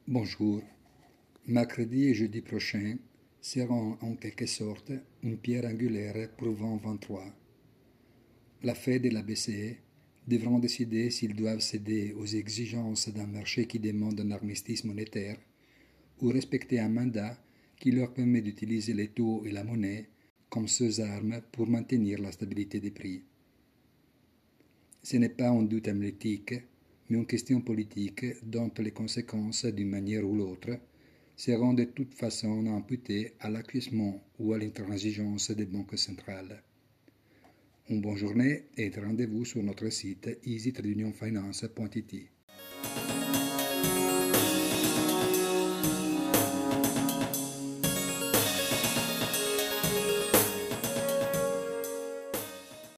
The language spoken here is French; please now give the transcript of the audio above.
Bonjour. Mercredi et jeudi prochain seront en quelque sorte une pierre angulaire pour 2023. La Fed et la BCE devront décider s'ils doivent céder aux exigences d'un marché qui demande un armistice monétaire ou respecter un mandat qui leur permet d'utiliser les taux et la monnaie comme seules armes pour maintenir la stabilité des prix. Ce n'est pas un doute analytique, mais une question politique dont les conséquences, d'une manière ou l'autre, seront de toute façon imputées à l'acquiescement ou à l'intransigeance des banques centrales. Une bonne journée et rendez-vous sur notre site easytradeunionfinance.it.